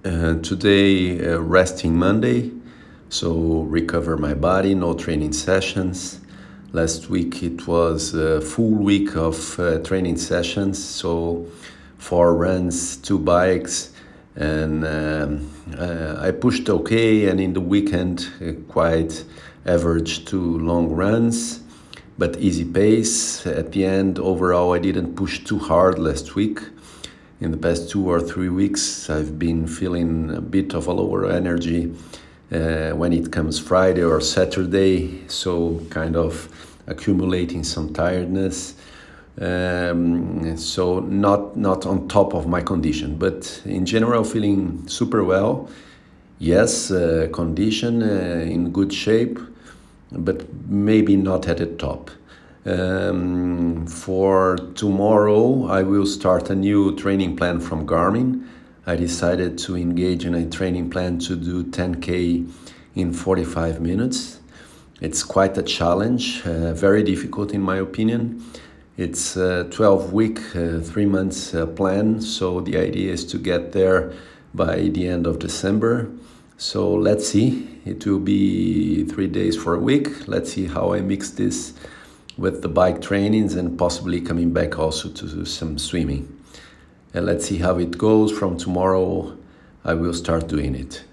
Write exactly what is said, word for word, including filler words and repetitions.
Uh, today, uh, resting Monday, so recover my body, no training sessions. Last week it was a full week of uh, training sessions, so four runs, two bikes, and um, uh, I pushed okay, and in the weekend, uh, quite average two long runs, but easy pace. At the end, overall, I didn't push too hard last week. In the past two or three weeks, I've been feeling a bit of a lower energy uh, when it comes Friday or Saturday, so kind of accumulating some tiredness. Um, so not not on top of my condition, but in general feeling super well. Yes, uh, condition uh, in good shape, but maybe not at the top. Um, for tomorrow, I will start a new training plan from Garmin. I decided to engage in a training plan to do ten K in forty-five minutes. It's quite a challenge, uh, very difficult in my opinion. It's a twelve week, uh, three months uh, plan, so the idea is to get there by the end of December. So let's see, it will be three days for a week. Let's see how I mix this with the bike trainings and possibly coming back also to do some swimming. And let's see how it goes. From tomorrow, I will start doing it.